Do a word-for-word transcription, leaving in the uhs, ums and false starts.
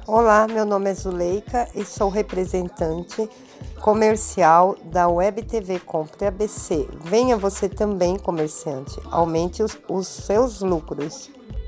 Olá, meu nome é Zuleika e sou representante comercial da Web T V Compre A B C. Venha você também, comerciante, aumente os, os seus lucros.